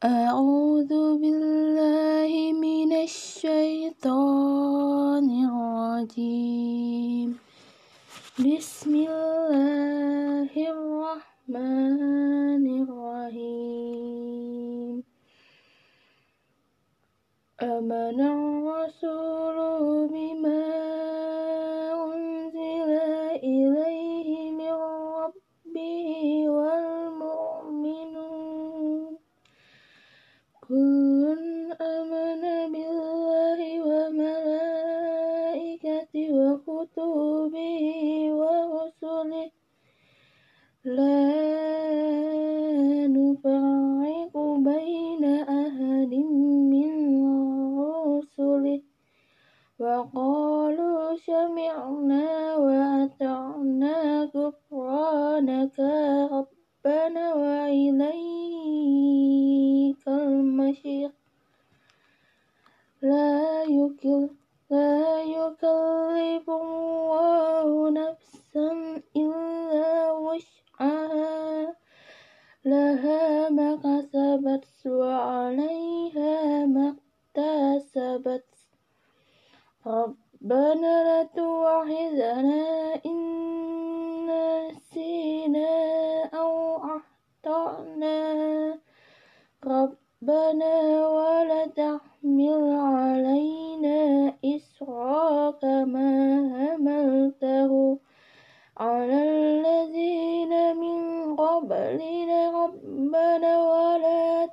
أعوذ بالله من الشيطان الرجيم بسم الله الرحمن الرحيم آمن الرسول بما أنزل إليه من ربه والمؤمنون كل آمن بالله وملائكته وكتبه ورسله لا نفرق بين أحد من رسله وقالوا سمعنا وأطعنا غفرانك ربنا وإليك المصير لا يكلف الله نفسا إلا وسعها لها ما كسبت وعليها ما اكتسبت ربنا لا تؤاخذنا إن نسينا أو أخطأنا ربنا ولا تحمل علينا إصرا كما حملته على الذين من قبلنا ربنا ولا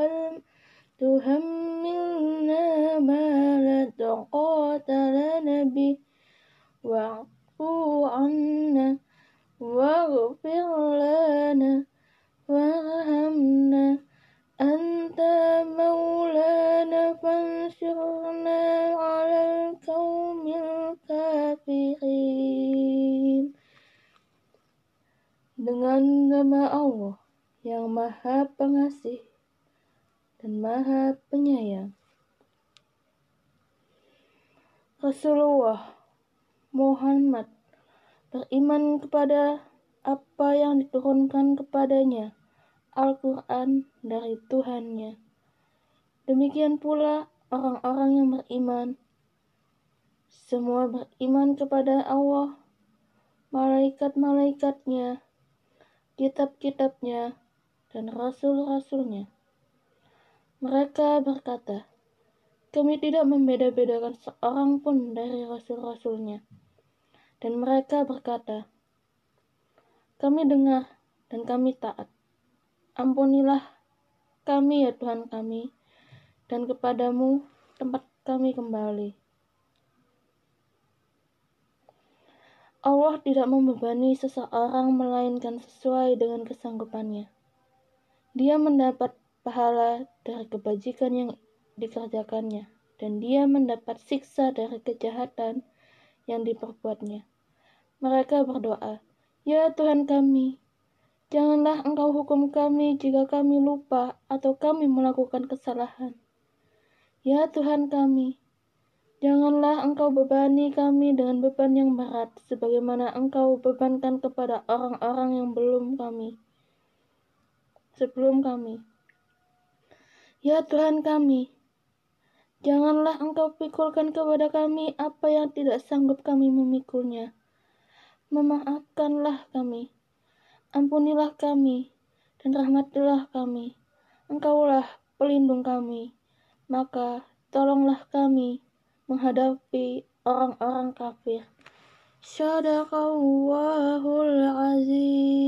تحملنا ما لا طاقة لنا به واعف عنا واغفر لنا وارحمنا أنت مولانا فانصرنا على القوم الكافرين. Dengan nama Allah yang Maha Pengasih dan Maha Penyayang. Rasulullah Muhammad beriman kepada apa yang diturunkan kepadanya, Al-Quran dari Tuhannya. Demikian pula orang-orang yang beriman. Semua beriman kepada Allah, malaikat-malaikatnya, kitab-kitabnya, dan rasul-rasulnya. Mereka berkata, kami tidak membeda-bedakan seorang pun dari rasul-rasulnya. Dan mereka berkata, kami dengar dan kami taat. Ampunilah kami ya Tuhan kami, dan kepadamu tempat kami kembali. Allah tidak membebani seseorang melainkan sesuai dengan kesanggupannya. Dia mendapat pahala dari kebajikan yang dikerjakannya, dan dia mendapat siksa dari kejahatan yang diperbuatnya. Mereka berdoa, ya Tuhan kami, janganlah Engkau hukum kami jika kami lupa atau kami melakukan kesalahan. Ya Tuhan kami, janganlah Engkau bebani kami dengan beban yang berat, sebagaimana Engkau bebankan kepada orang-orang yang sebelum kami. Ya Tuhan kami, janganlah Engkau pikulkan kepada kami apa yang tidak sanggup kami memikulnya. Memaafkanlah kami, ampunilah kami, dan rahmatilah kami. Engkaulah pelindung kami, maka tolonglah kami menghadapi orang-orang kafir. Shadaqallahul azim.